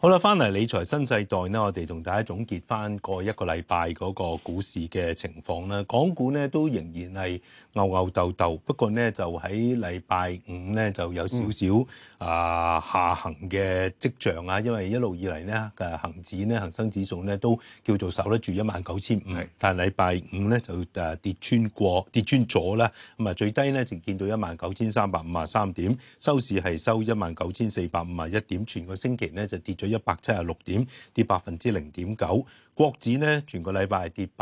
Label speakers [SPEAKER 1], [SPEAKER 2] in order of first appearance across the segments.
[SPEAKER 1] 好啦，翻嚟理財新世代呢，我哋同大家總結翻過一個禮拜嗰個股市嘅情況啦。港股呢都仍然係吽吽鬥鬥，不過呢就喺禮拜五呢就有少少下行嘅跡象啊。因為一路以嚟呢恒生指數呢都叫做守得住19,500，但係禮拜五呢就跌穿咗啦。咁啊最低呢就見到19,353點，收市係收19,451點，全個星期呢就跌咗176點，跌0.9%。國指呢全個禮拜係跌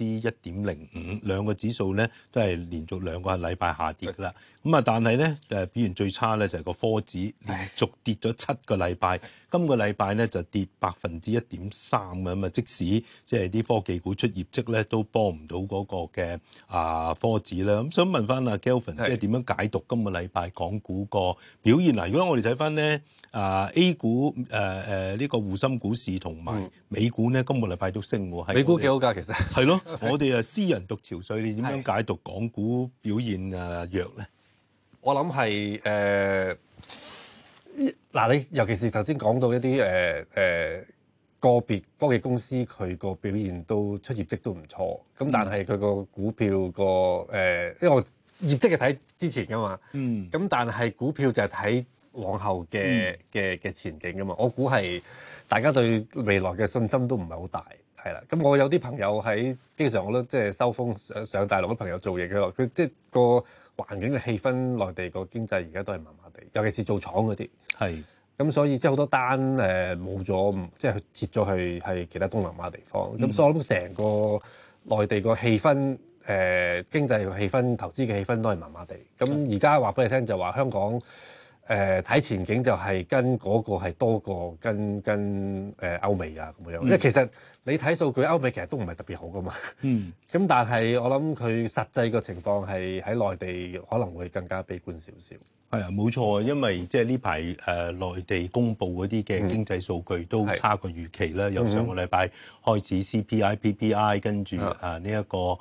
[SPEAKER 1] 1.05%，兩個指數呢都係連續兩個禮拜下跌㗎啦。咁啊，但係呢表現最差呢就係個科指，連續跌咗7個禮拜。今個禮拜呢就跌1.3%咁啊，即使即係啲科技股出業績咧，都幫唔到嗰個嘅科指啦。咁想問翻阿 Kelvin，即係點樣解讀今個禮拜港股個表現嗱？如果我哋睇翻咧A 股呢個滬深股市同埋美股咧，今個禮拜都升喎。
[SPEAKER 2] 美股幾好㗎，其實
[SPEAKER 1] 係咯，我哋私人獨潮水，你點樣解讀港股表現弱咧？
[SPEAKER 2] 我諗係嗱，你尤其是頭先講到一啲個別科技公司佢個表現都出業績都唔錯，咁但係佢個股票個因為我業績係睇之前㗎嘛，咁但係股票就係睇往後嘅前景㗎嘛。我估係大家對未來嘅信心都唔係好大，係啦。咁我有啲朋友經常我都即係收風上大陸啲朋友做嘢，佢即係個環境嘅氣氛，內地個經濟而家都係麻麻地，尤其是做廠嗰啲。係。咁所以即係好多單冇咗，即係撤咗去係其他東南亞地方。咁所以我諗成個內地個氣氛，經濟嘅氣氛、投資嘅氣氛都係麻麻地。咁而家話俾你聽就話香港睇前景就係跟嗰個係多過跟歐美啊咁樣。因為其實你睇數據，歐美其實都唔係特別好噶嘛。咁但係我諗佢實際個情況係喺內地可能會更加悲觀少少。
[SPEAKER 1] 係啊，冇錯，因為即係呢排內地公布嗰啲嘅經濟數據都差過預期啦。由上個禮拜開始 CPI、PPI， 跟住呢一個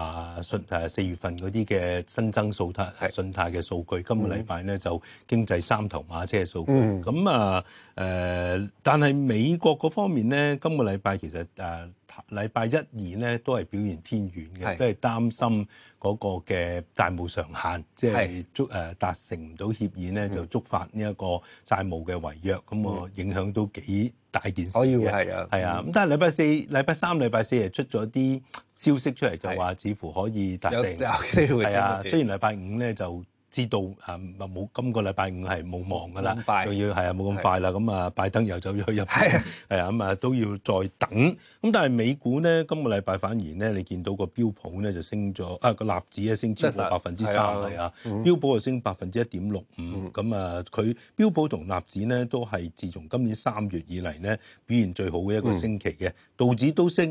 [SPEAKER 1] 4月份嗰啲嘅新增信貸嘅數據，今個禮拜呢就經濟三頭馬車嘅數據。咁但係美國嗰方面呢，今個禮拜其實禮拜1、2咧都係表現偏軟嘅，都係擔心嗰個嘅債務上限，即係達成唔到協議咧，就觸發呢一個債務嘅違約，咁影響都幾大件事嘅。係啊，咁但係禮拜3、禮拜4係出咗啲消息出嚟，就話似乎可以達成。有機會。係啊，雖然禮拜5咧就知道冇今個禮拜5係冇望㗎啦，仲要係冇咁快啦。咁拜登又走咗去入邊，係啊，咁都要再等。咁但係美股咧，今個禮拜反而咧，你見到個標普咧就升咗，個納指咧升超過3%，係啊，標普就升1.65%。咁佢標普同納指咧都係自從今年3月以嚟咧表現最好嘅一個星期嘅，道指都升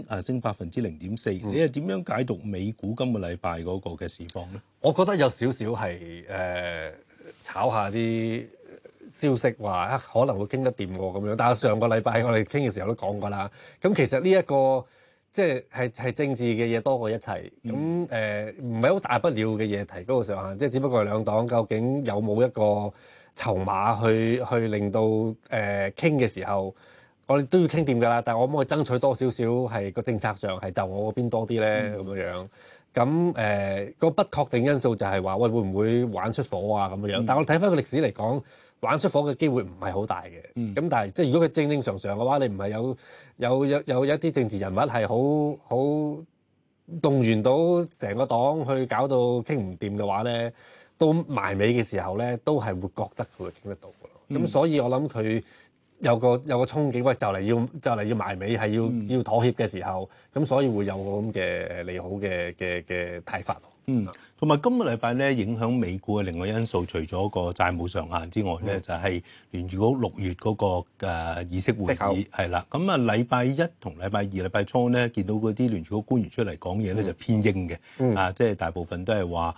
[SPEAKER 1] 0.4%。你係點樣解讀美股今個禮拜嗰個嘅市況咧？
[SPEAKER 2] 我覺得有少少係炒下啲消息話可能會傾得掂喎咁樣，但係上個禮拜我哋傾嘅時候都講過啦。咁其實呢一個即係政治嘅嘢多過一切，咁唔係好大不了嘅嘢提高個上限，即係只不過係兩黨究竟有冇一個籌碼去令到傾嘅時候，我哋都要傾掂㗎啦。但係我可唔可以爭取多少少係個政策上係就我嗰邊多啲咧咁樣？咁個不確定因素就係話喂會唔會玩出火啊咁樣？但係我睇翻個歷史嚟講，玩出火嘅機會唔係好大嘅。咁但係即係如果佢正常嘅話，你唔係有一啲政治人物係好動員到成個黨去搞到傾唔掂嘅話咧，到埋尾嘅時候咧，都係會覺得佢會傾得到嘅咯。咁所以我諗佢有個憧憬，喂就嚟要埋尾，係要妥協嘅時候，咁所以會有個咁嘅利好嘅睇法咯。
[SPEAKER 1] 同埋今個禮拜咧影響美股嘅另外因素，除咗個債務上限之外咧，就係聯儲局6月嗰個議息會議係啦。咁禮拜1同禮拜2、禮拜初咧，見到嗰啲聯儲局官員出嚟講嘢咧就偏鷹嘅，即係大部分都係話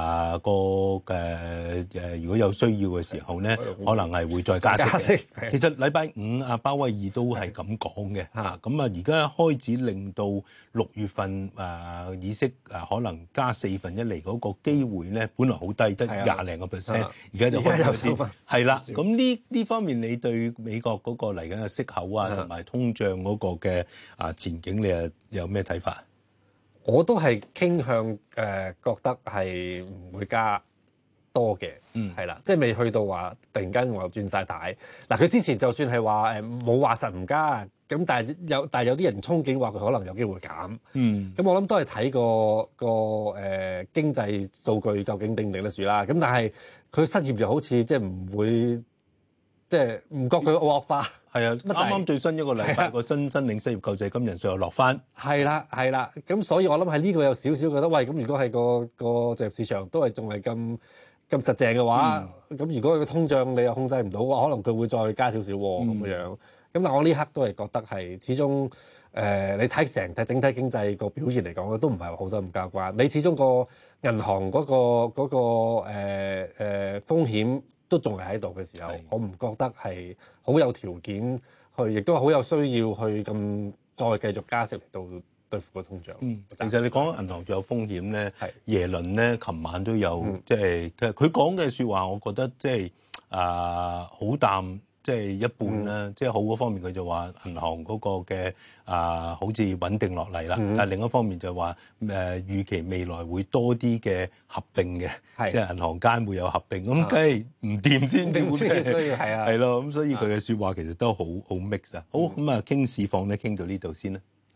[SPEAKER 1] 如果有需要嘅時候咧，可能係會再加息。其實禮拜5鮑威爾都係咁講嘅，咁而家開始令到6月份議息可能加4 分一嚟嗰個機會咧，本來好低，得20零個 percent， 而家就開始有啲係啦。咁呢方面，你對美國嗰個嚟緊嘅息口啊，同埋通脹嗰個嘅前景，你有咩睇法？
[SPEAKER 2] 我都係傾向覺得係唔會加多嘅，係啦，即係未去到話突然間我轉晒軚。嗱，佢之前就算係話冇話實唔加，咁但係有啲人憧憬話佢可能有機會減。咁我諗都係睇個經濟數據究竟頂唔頂得住啦。咁但係佢失業就好似即係唔會，即係唔覺佢惡化。
[SPEAKER 1] 係啊，啱啱最新一個禮拜個申領失業救濟金人數又落翻。係
[SPEAKER 2] 啦，咁所以我諗喺呢個有少少覺得，喂，咁如果係個就業市場都係仲係咁實淨嘅話，咁如果佢個通脹你又控制唔到嘅話，可能佢會再加少少咁樣。咁但係我呢刻都係覺得係始終你睇整體經濟個表現嚟講咧，都唔係好多咁交關。你始終個銀行嗰個風險都仲係喺度嘅時候，我唔覺得係好有條件去，亦都好有需要去咁再繼續加息嚟到對付個通脹。
[SPEAKER 1] 其實你講銀行仲有風險咧，耶倫咧琴晚都有即係佢講嘅説話，我覺得即係好淡。即係一半啦，即係好嗰方面佢就話銀行嗰個嘅好似穩定落嚟啦，但係另一方面就話預期未來會多啲嘅合併嘅，即係銀行間會有合併，咁梗係唔掂先至會係咯，咁所以佢嘅説話其實都好 mix 啊。好，咁傾市況咧傾到呢度先啦。